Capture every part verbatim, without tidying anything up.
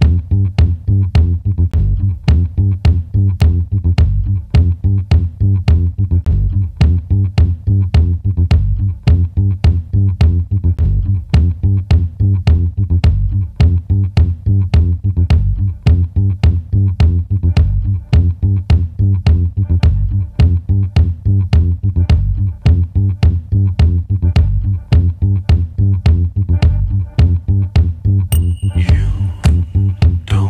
You don't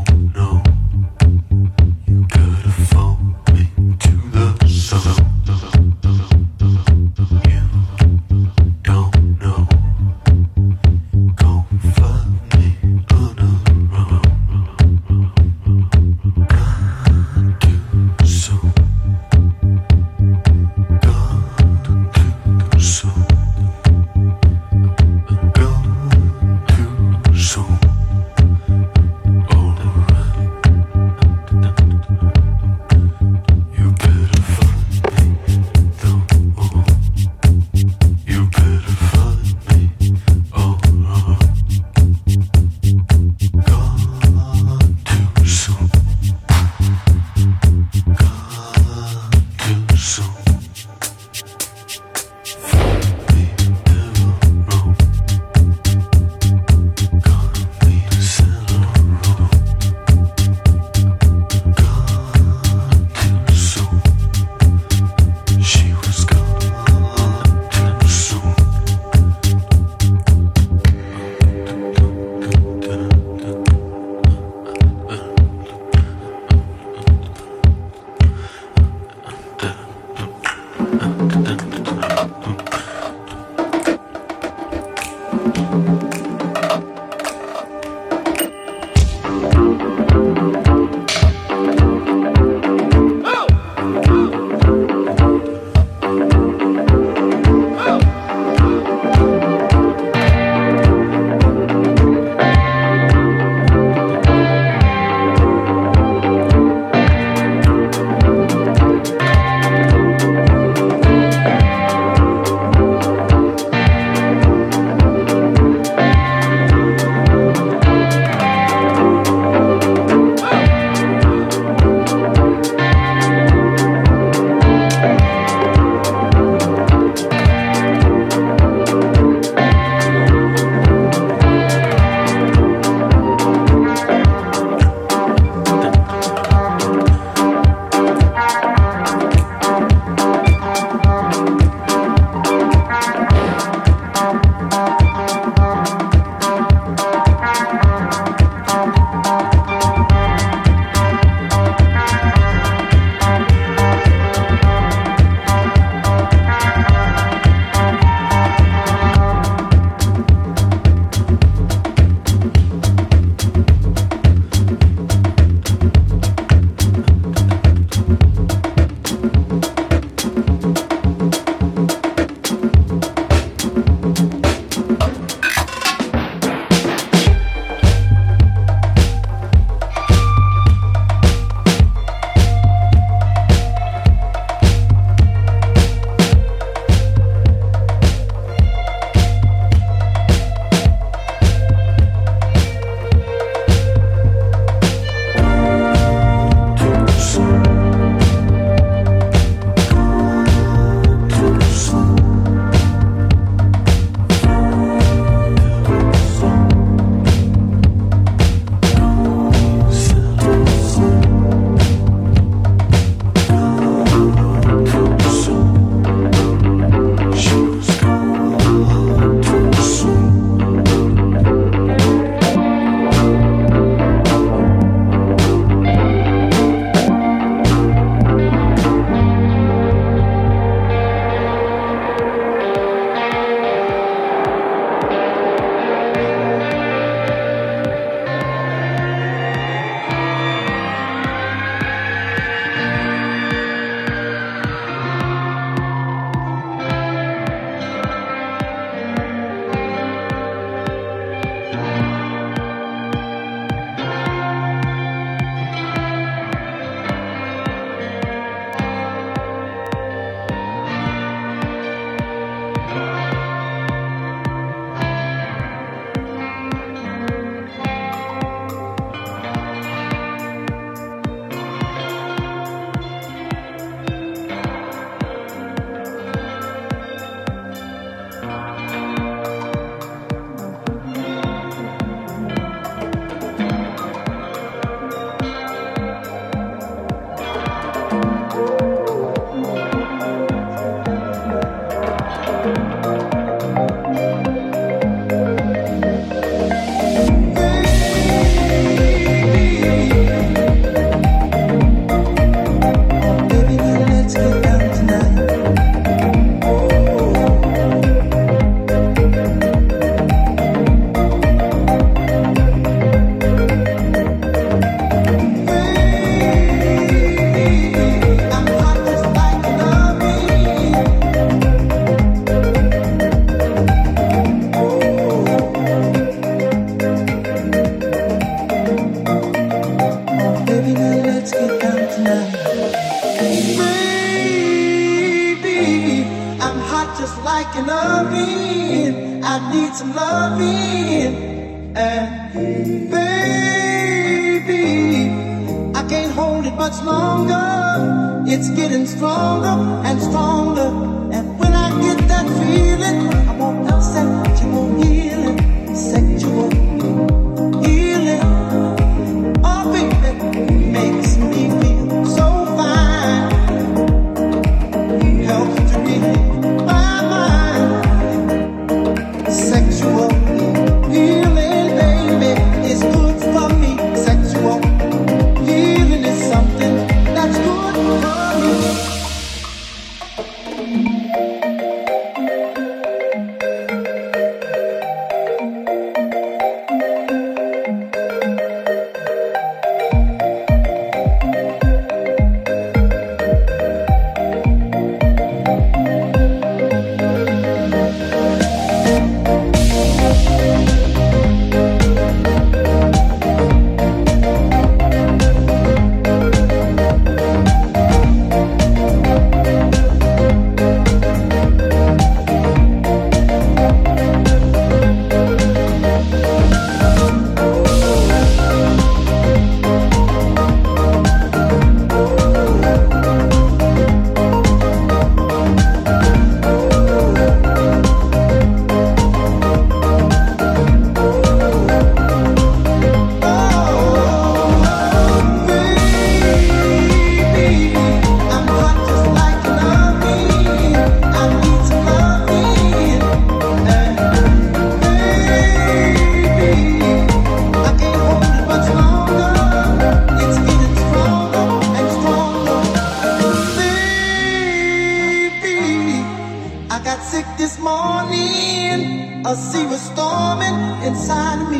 loving. I need some loving. And baby, I can't hold it much longer. It's getting stronger and stronger. And when I get that feeling, I want that sexual healing, sexual healing. Oh, baby, makes me feel so fine. Helps to relieve my mind. Sexual healing, baby, is good for me. Sexual healing is something that's good for me. A sea was storming inside of me.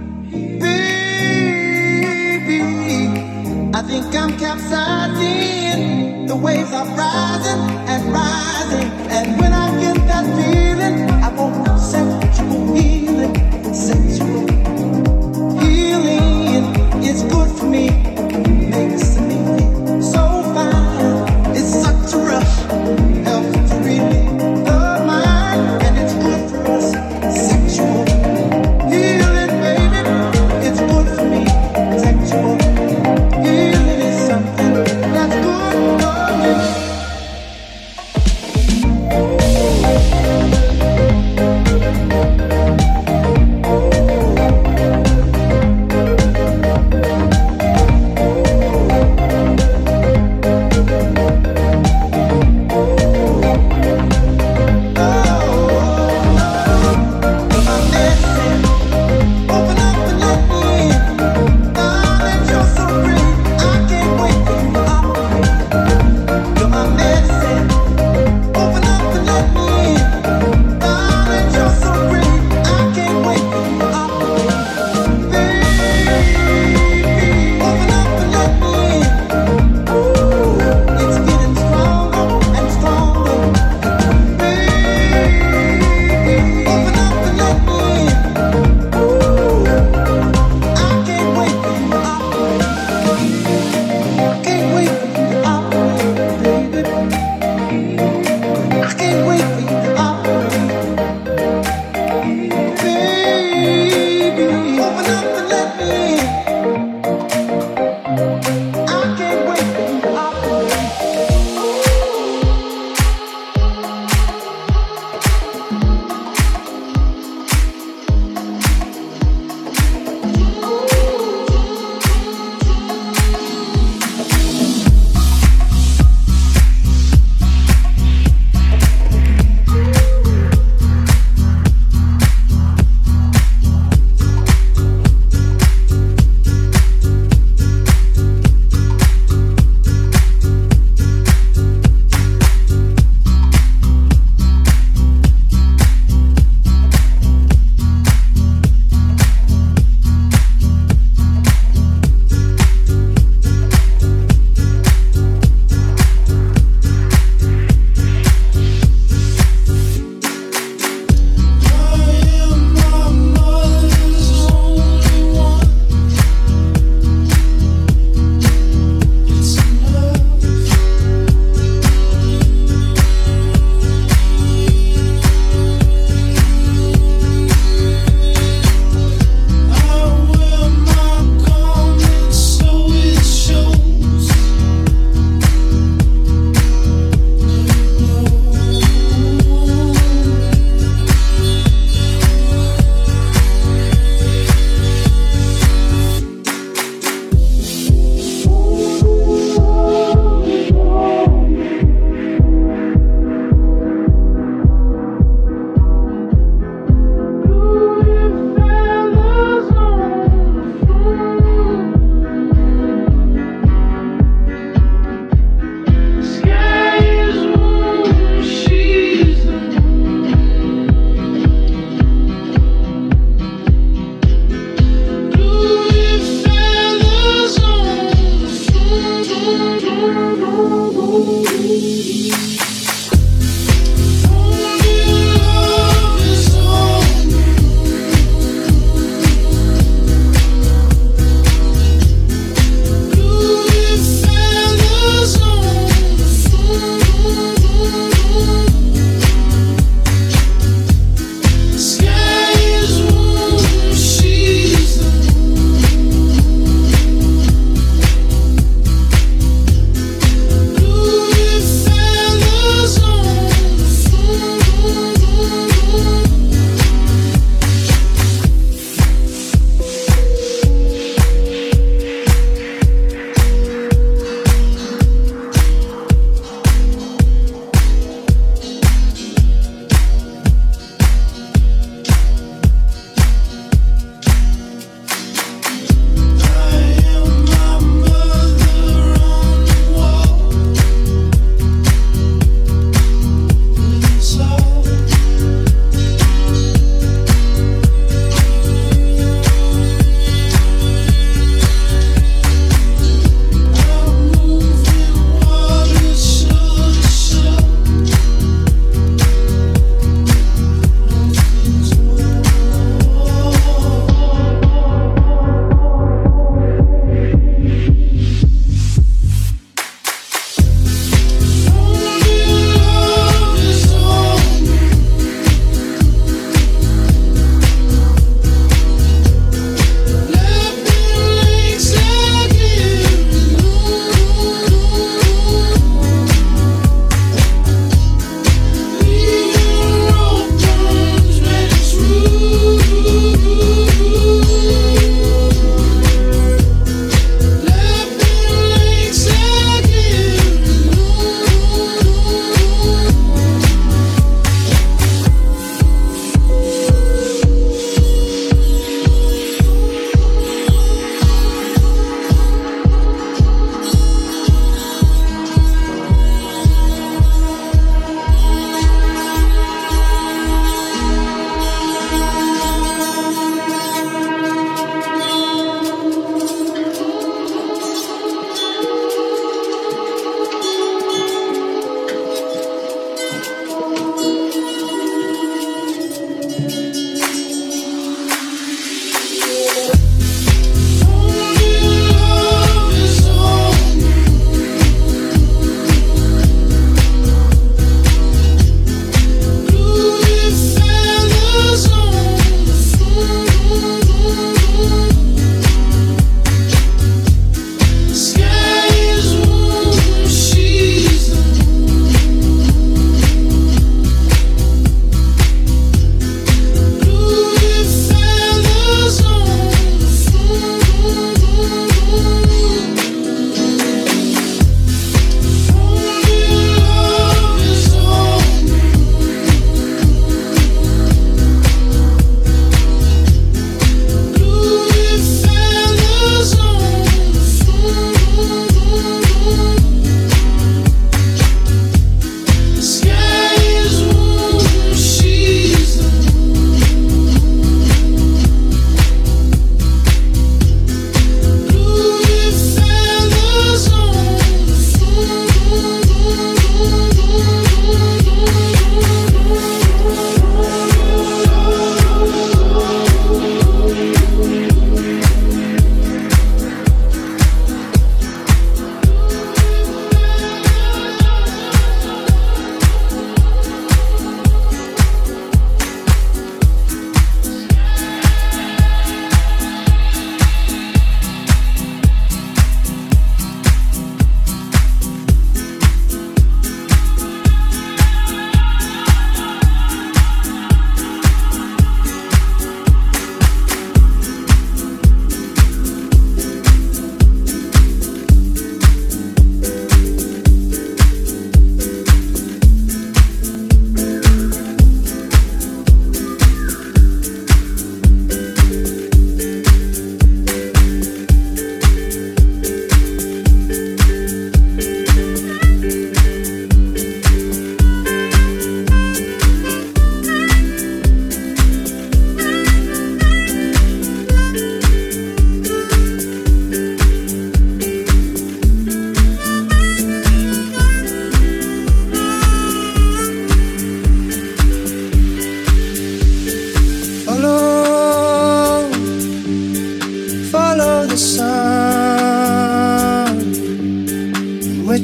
Baby, I think I'm capsizing. The waves are rising and rising. And when I get that feeling, I want sexual healing. Sexual healing is good for me. Makes me feel so fine. It's such a rush. Helps to relieve the mind. And it's good for us. Sexual healing, baby, it's good for me. Sexual healing is something that's good for me.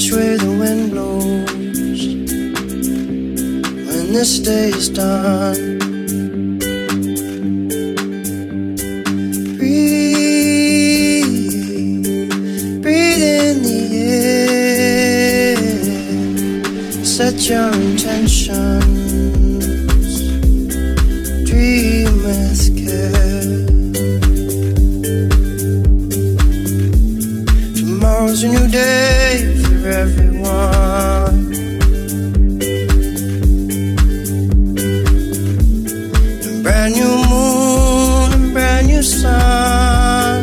which way the wind blows when this day is done. Set your intentions, dream with care. Tomorrow's a new day for everyone. A brand new moon, a brand new sun.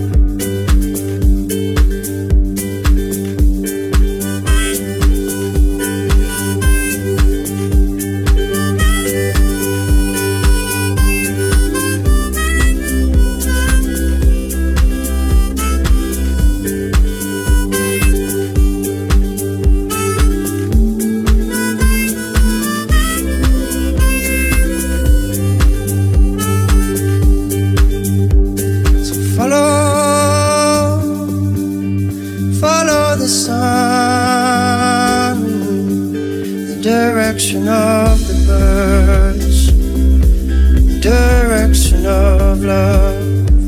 Direction of the birds, the direction of love.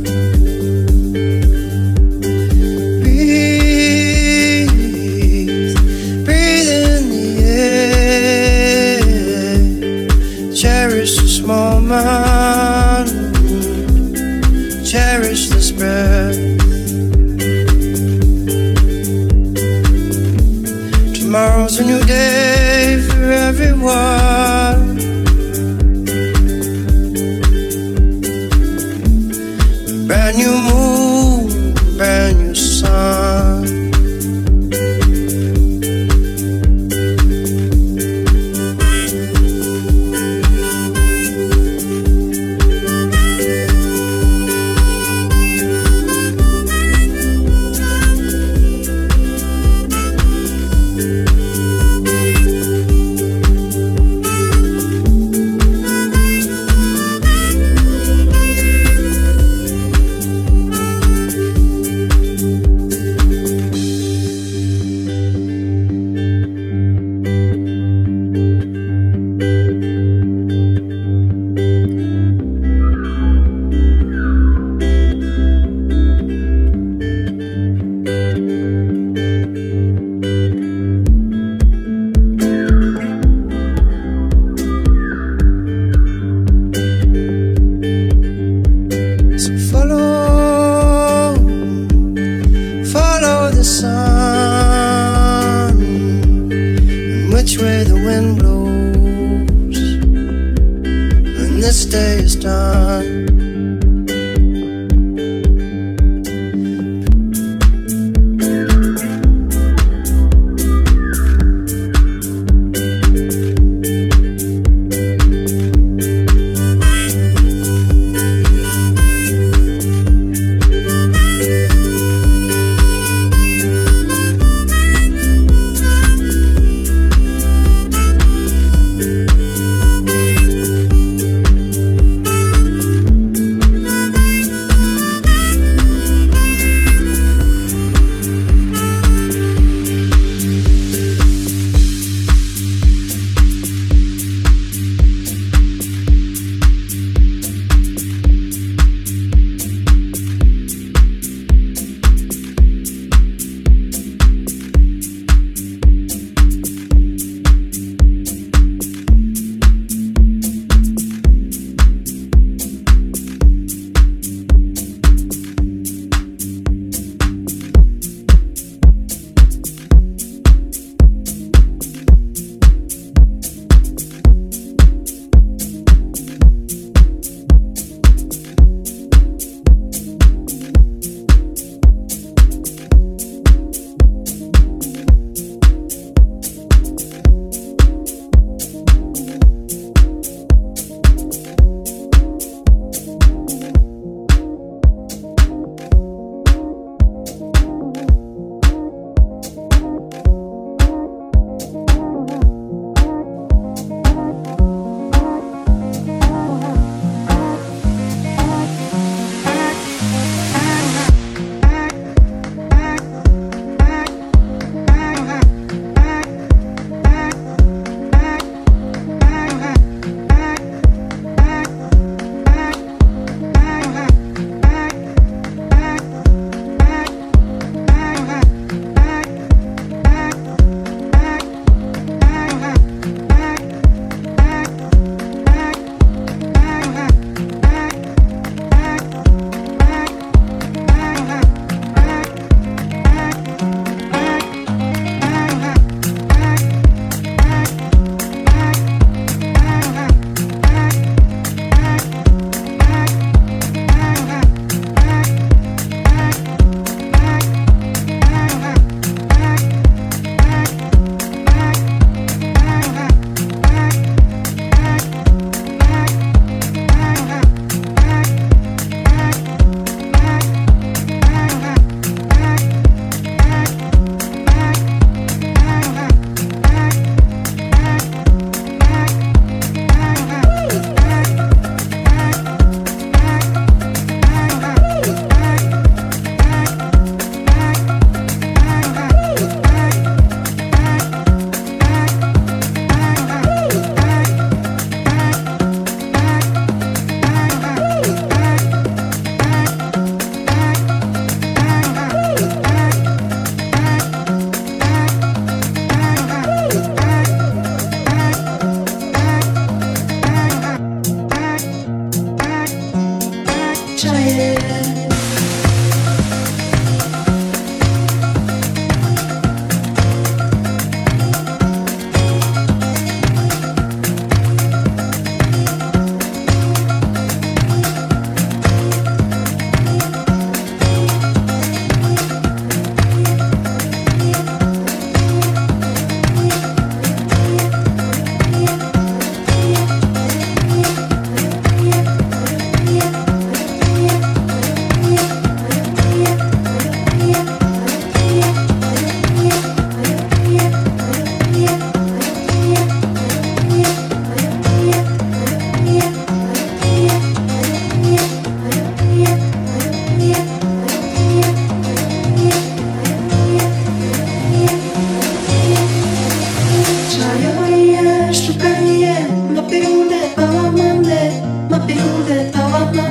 Breathe, breathe in the air. Cherish this moment, cherish this breath. Tomorrow's a new day for everyone. Brand new moon, brand new sun. Which way the wind blows when this day is done.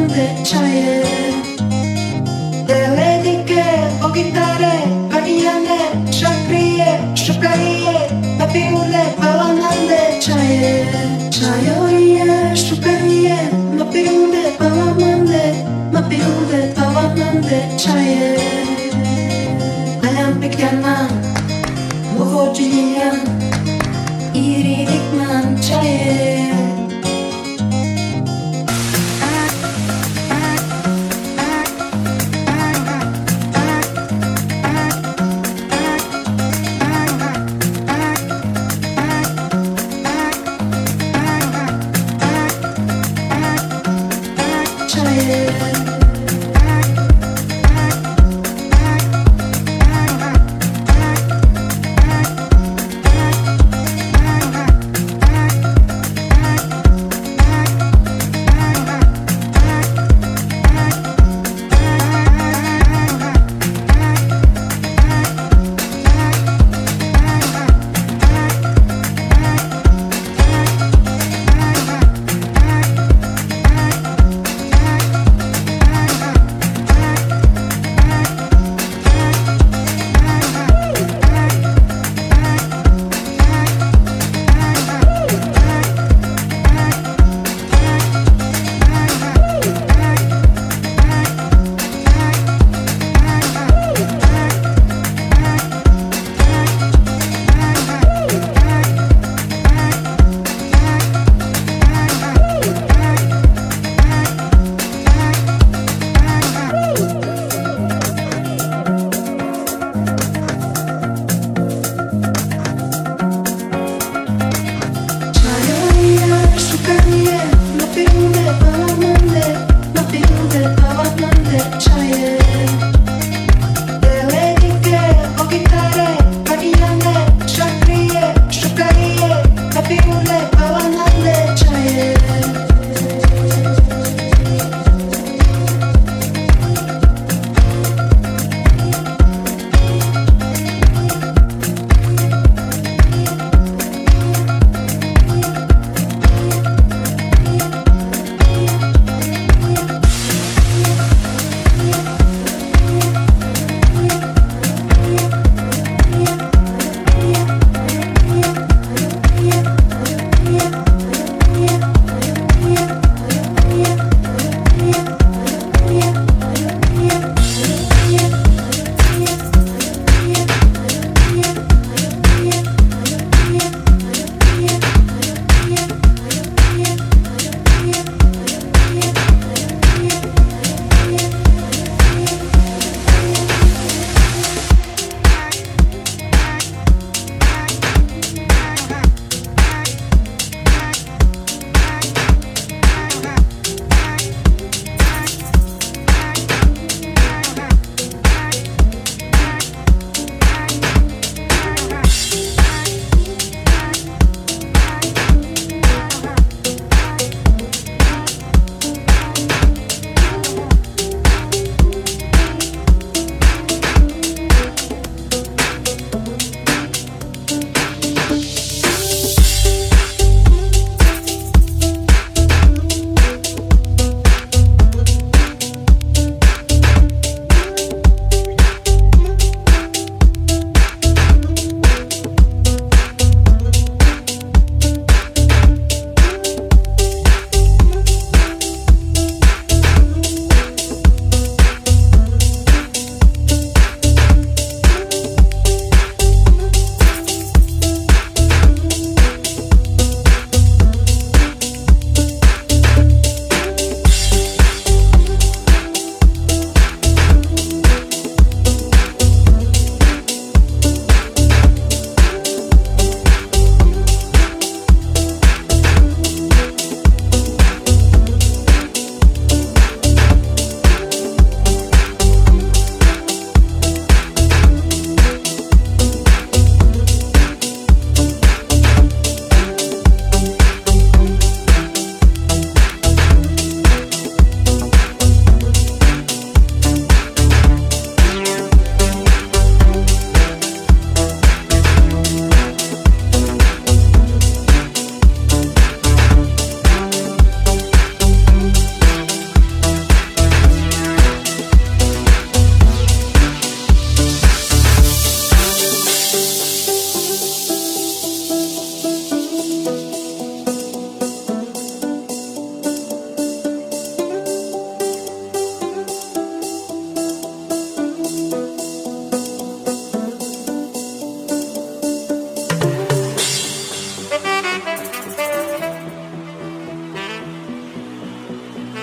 밤한데 차에 Deledike, pogitare, varijane, šakrije, šukarije, napiule, palamande, čaje, čajorije, šukarije, napiule, palamande, napiule, palamande, čaje. Ayan pekyanan, muhojiyan, iridikman, čaje.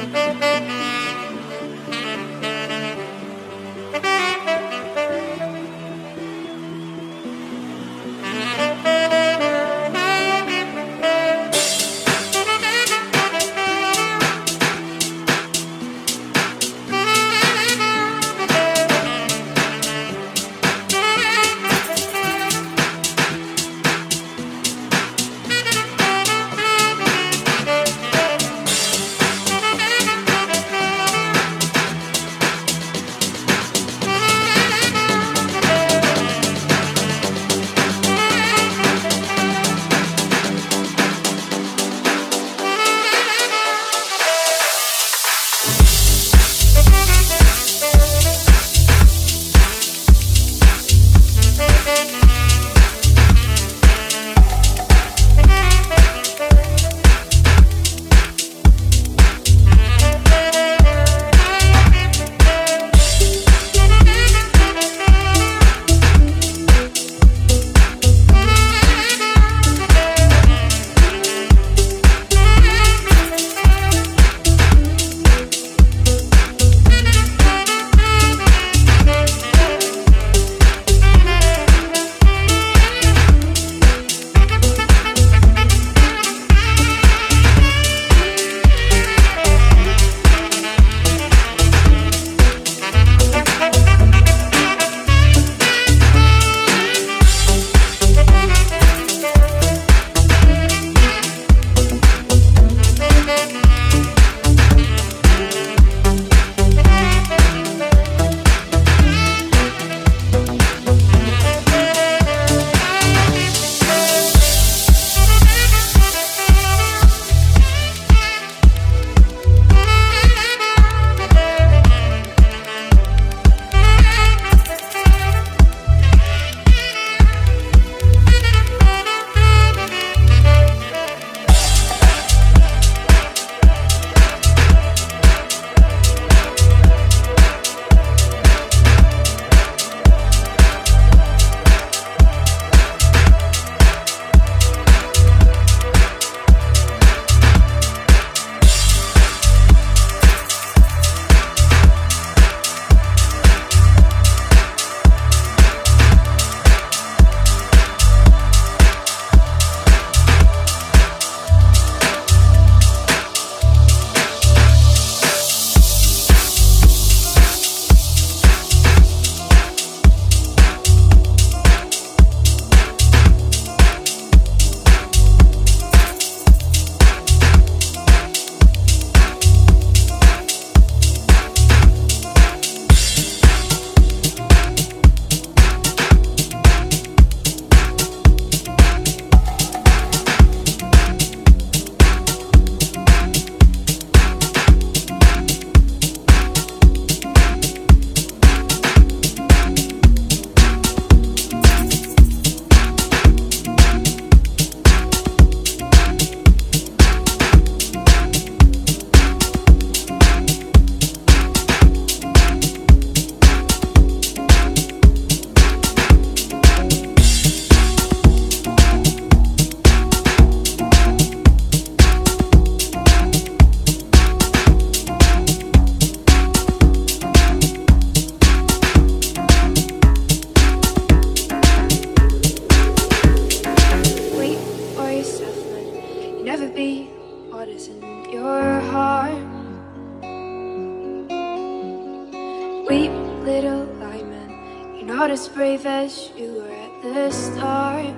Weep, little lineman, you're not as brave as you were at the start.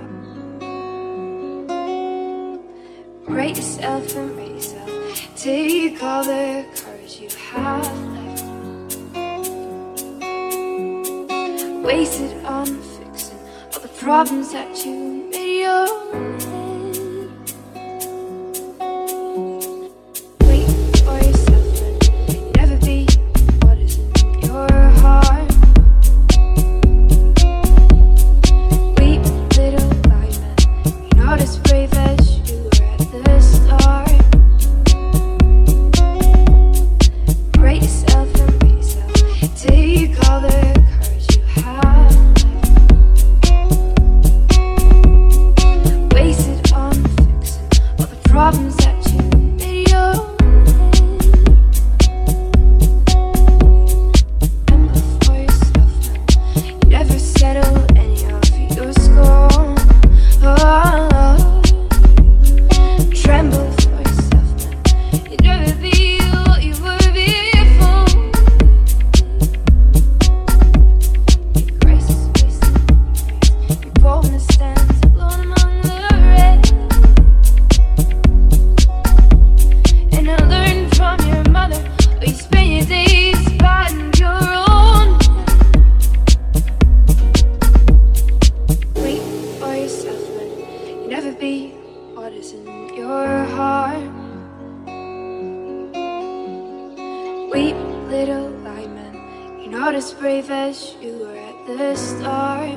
Rate yourself and rate yourself. Take all the courage you have left. Wasted on fixing all the problems that you made your own. Wasted Weep, little lineman, you're not as brave as you were at the start.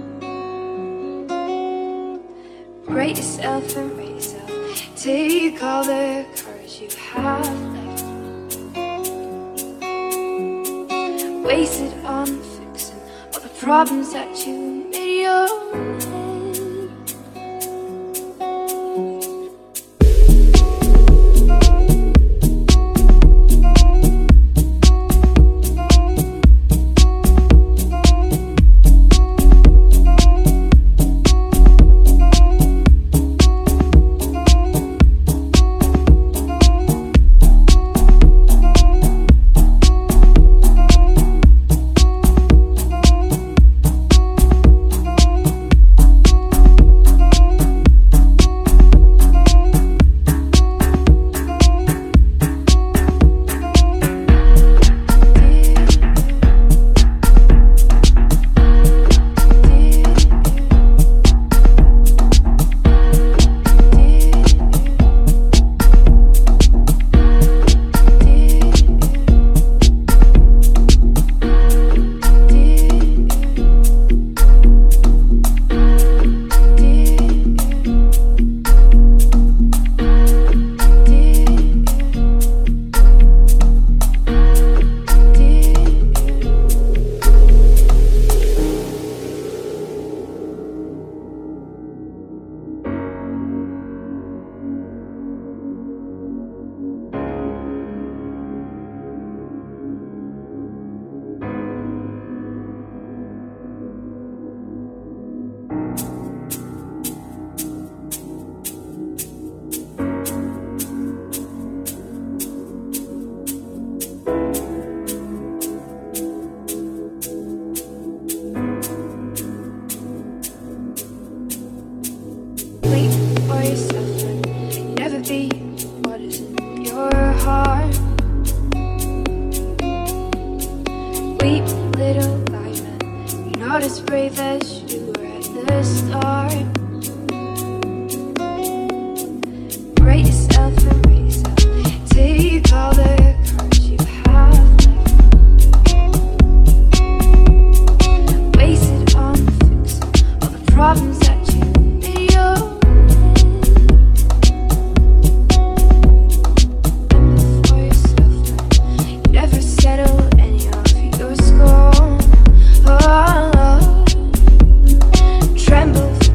Rate yourself and rate yourself. Take all the courage you have left. Waste it on fixing all the problems that you made your own. Wait for yourself and never be what is in your heart. Weep, little lineman, you're not as brave as you were at the start. Rate yourself and rate yourself. Take all the courage you have left. Waste it on fixing all the problems that you made your own. Settle any of your scorn. Oh, tremble.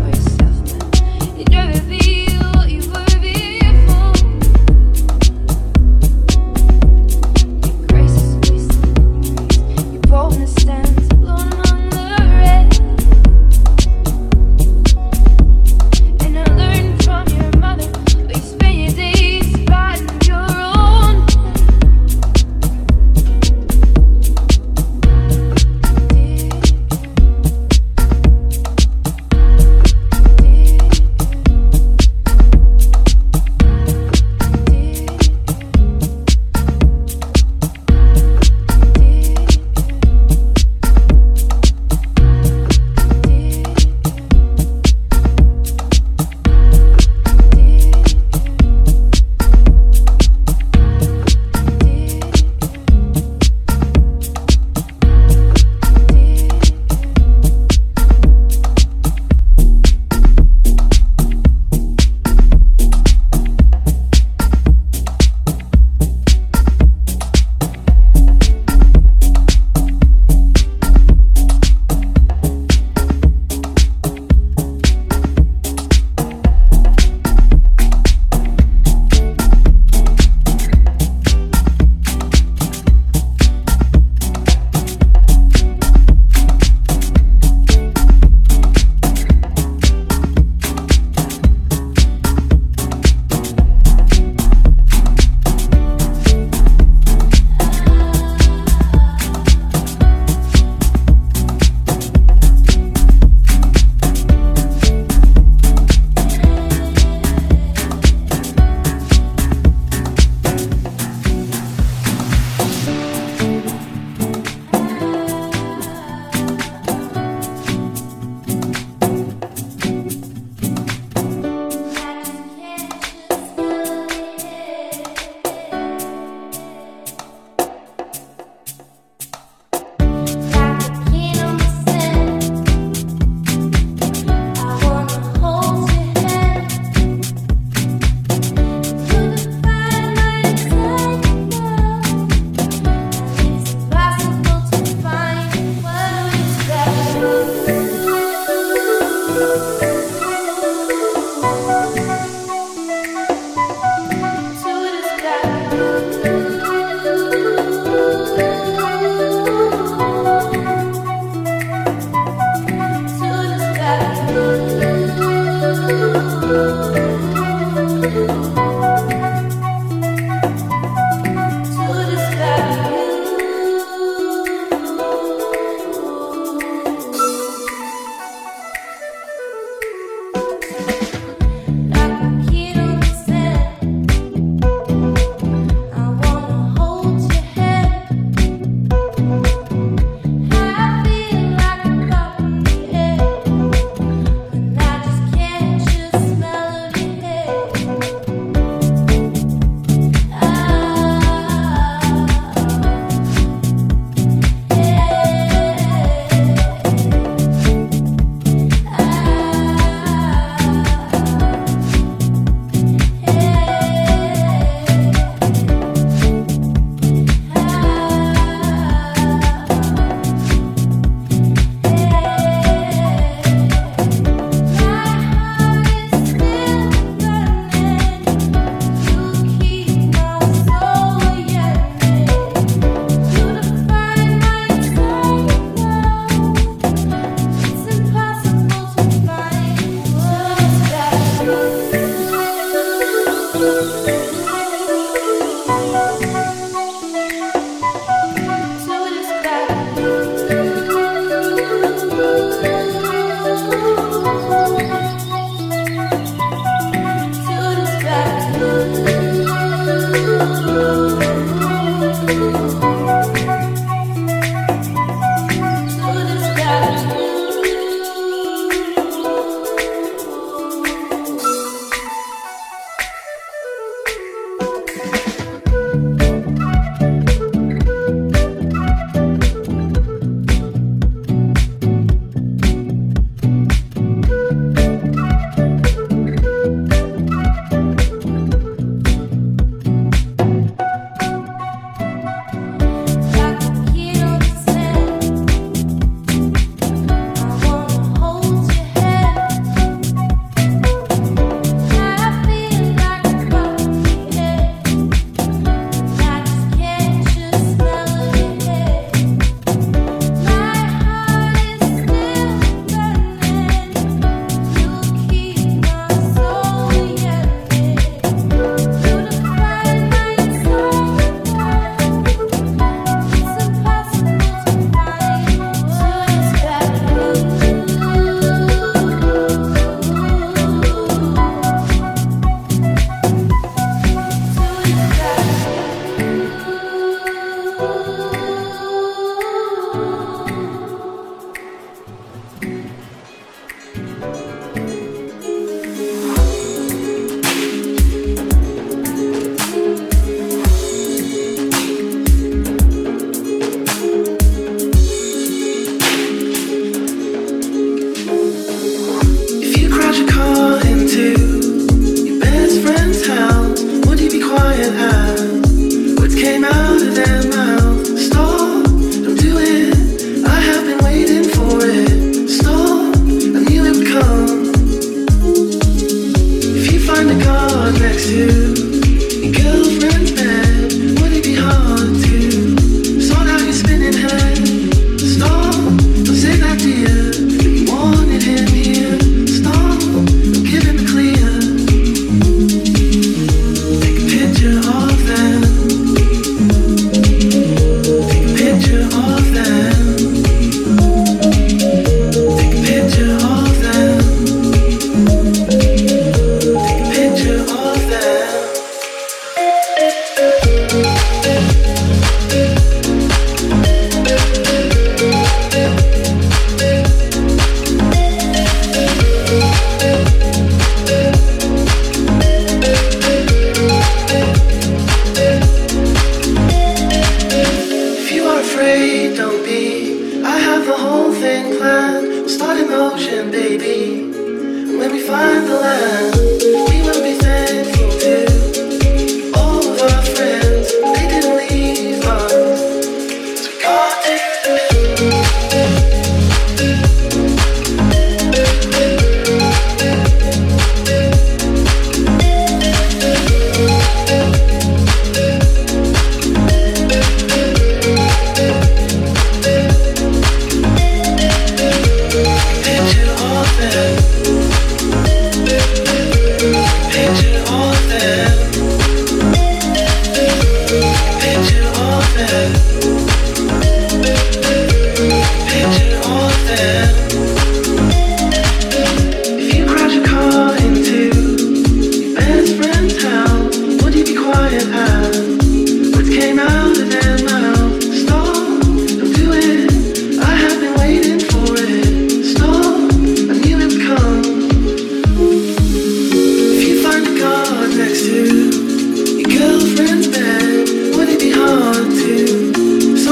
next to your girlfriend's bed. Would it be hard to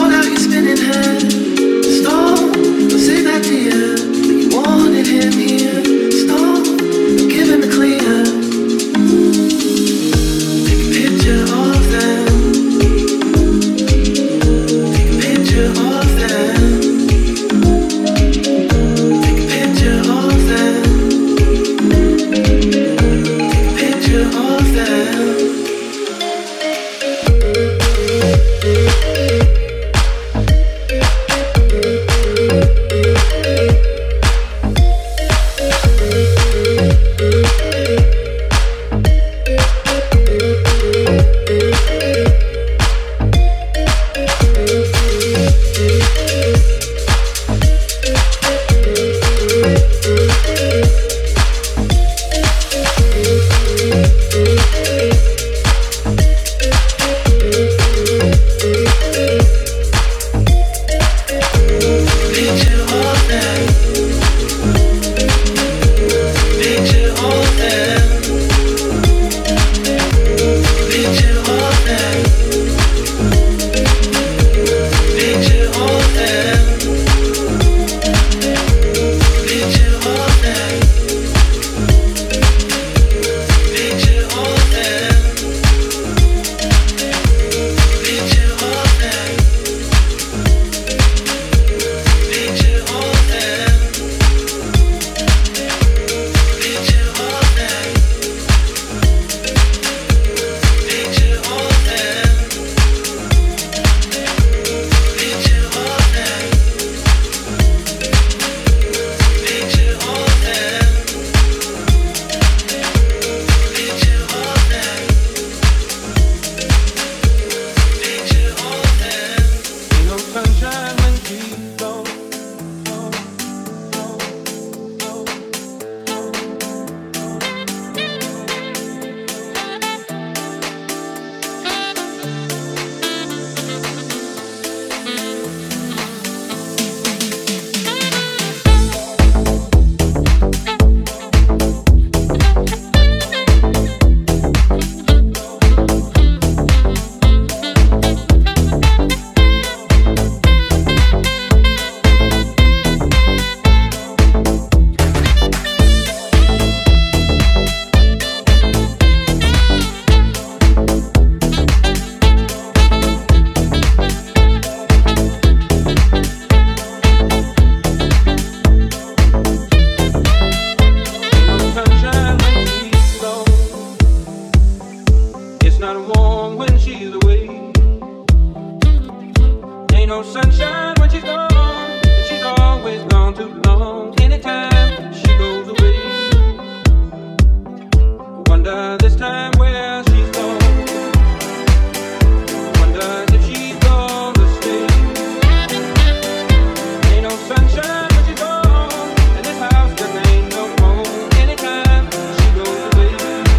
no sunshine when she's gone, and she's always gone too long. Anytime she goes away, wonder this time where she's gone. Wonder if she's gonna stay. Ain't no sunshine when she's gone, and this house just ain't no home. Anytime she goes away.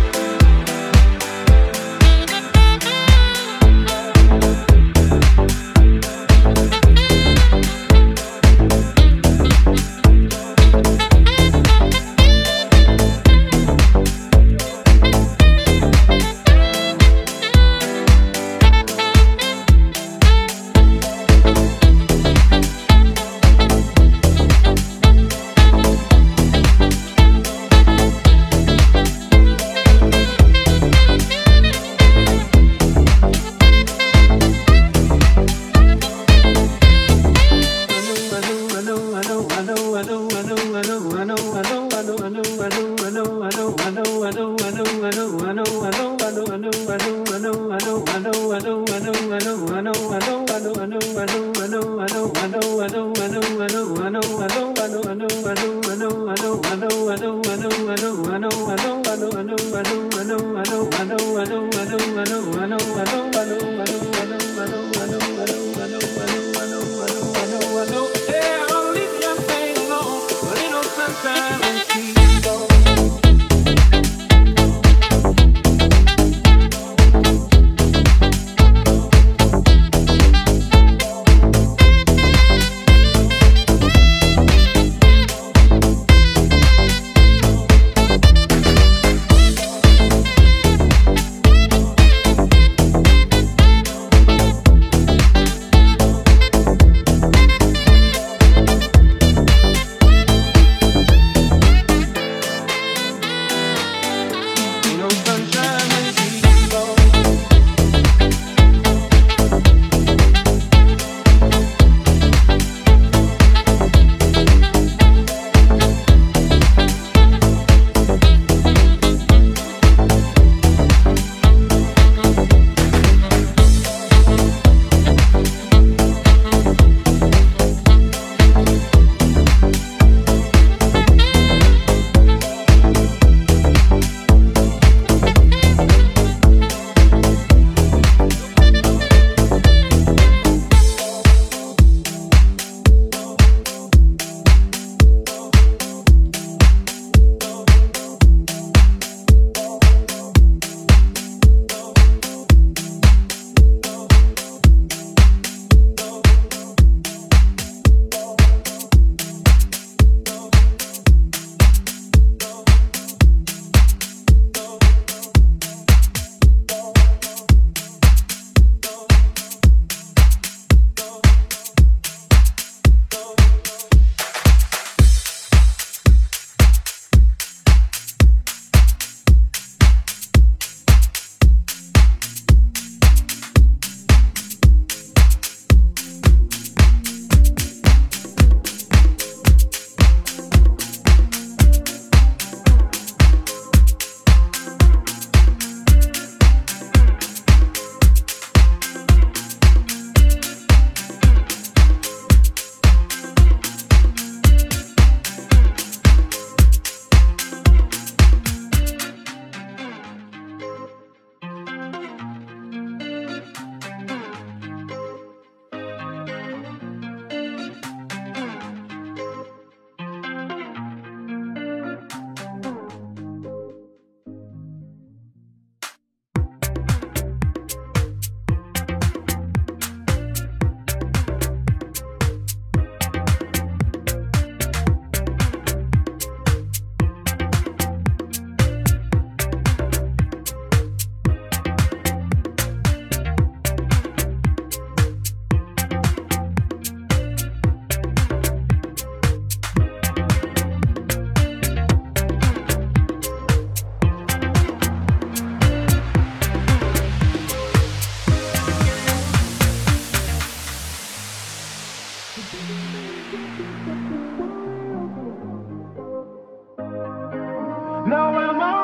Now am I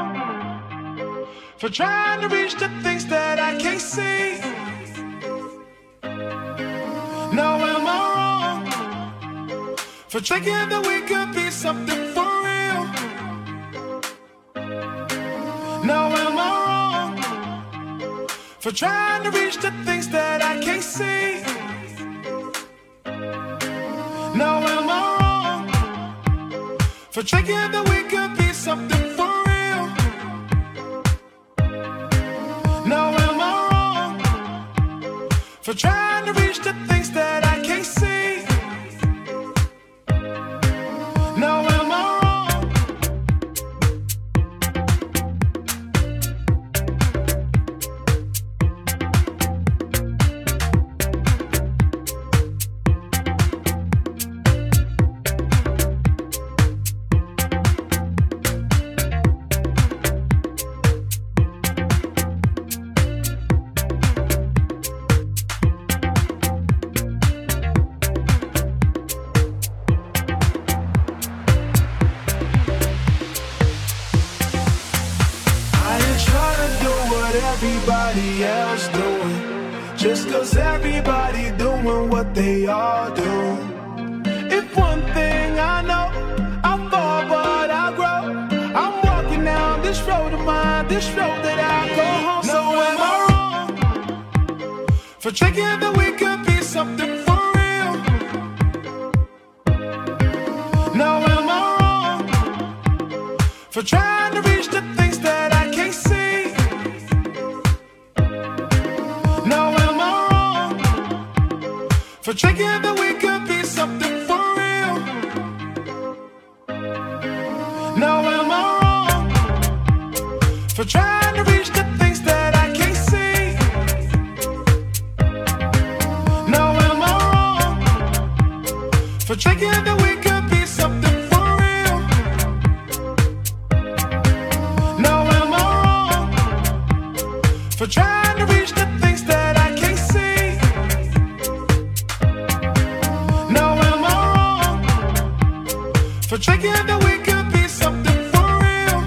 wrong for trying to reach the things that I can't see? for thinking that we could be something for real. Now am I wrong for trying to reach the things that I can't see? Now am I wrong for thinking that we could be something for real? Now am I wrong for trying to reach the things that I can't see? Now am I wrong? Everybody else doing, just cause everybody doing what they all do. If one thing I know, I fall but I grow. I'm walking down this road of mine, this road that I go home. So am I wrong for thinking that we could be something for real? Now am I wrong for trying to reach the things that I can't see? For thinking that we could be something for real. Now am I wrong for trying to reach the things that I can't see? Now am I wrong for thinking that we could be something for real? Now am I wrong for trying to reach the things that I can't see? For thinking that we could be something for real.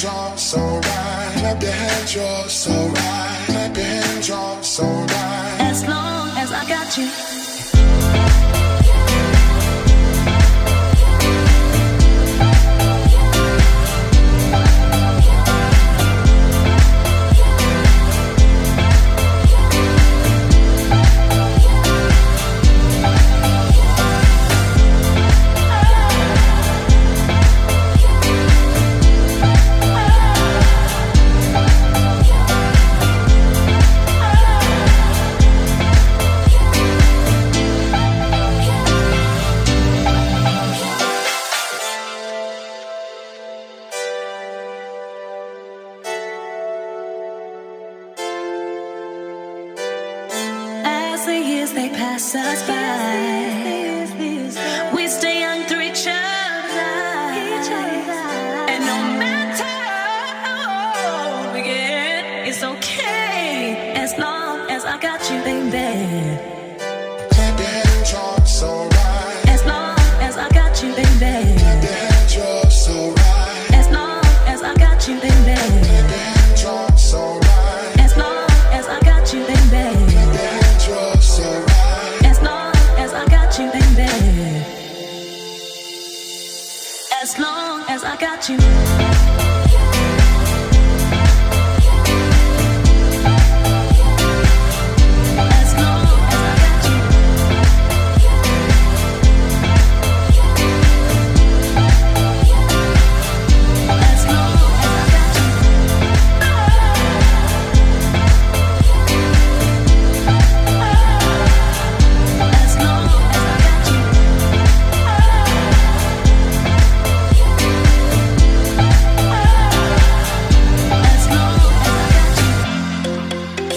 hands, you're so right. Clap your hands, you're so right. Clap your hands, you're so right. As long as I got you. As the years they pass us by, we stay young through each other's eyes. And no matter how we get, it's okay as long as I got you, baby. Clap your hands, you're so right. As long as I got you, baby. Clap your hands, you're so right. As long as I got you, baby. Clap your hands, you're so right. As long as I got you, baby. Clap your hands, you're so right. As long as I got you, baby. As long as I got you. As long as I got you. As long as I got you. As long as I got you. As long as I got you.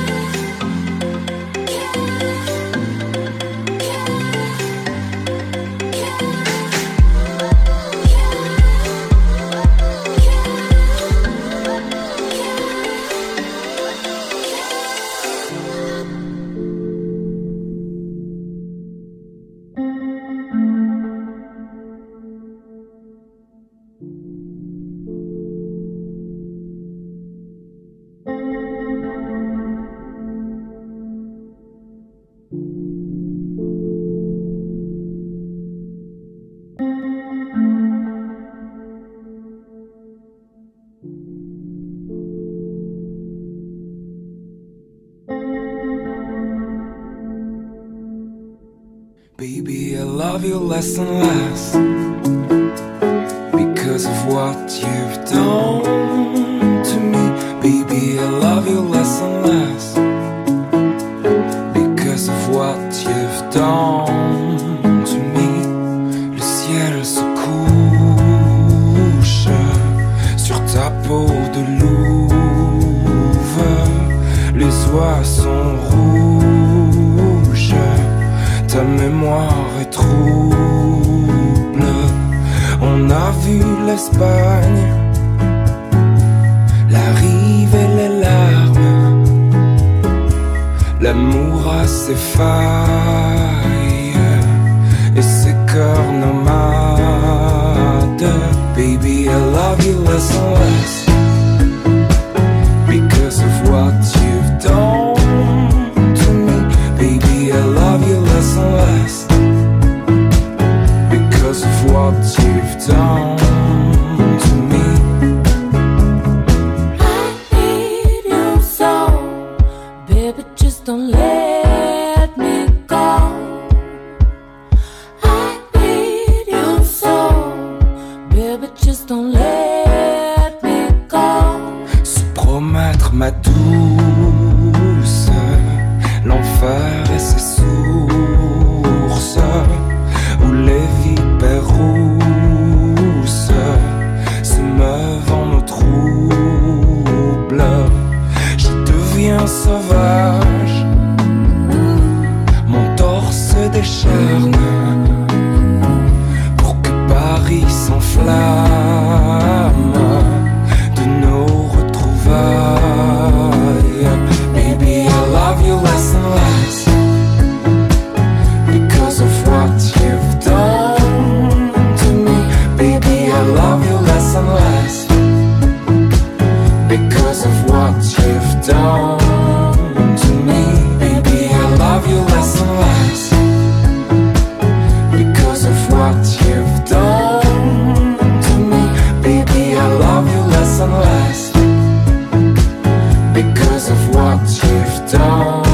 Baby, I love you less and less because of what you've done to me. Baby, I love you less and less because of what you've done to me. Le ciel se couche sur ta peau de louve. Les oies sont rouges, ta mémoire est trouble. On a vu l'Espagne, la rive et les larmes. L'amour a ses failles et ses cœurs nomades. Baby, I love you less and less because of what you've done to me. Baby, I love you less and less because of what you've done to me. I need you so, baby, just don't let me go. I need you so, baby, just don't let me go. Se promettre ma douce, l'enfer et ses sources, où les vipères rousses se meuvent en eau trouble. Je deviens sauvage, mon torse se décharne pour que Paris s'enflamme de nos retrouvailles. Baby, I love you less and less because of what you've done to me. Baby, I love you less and less what you've done.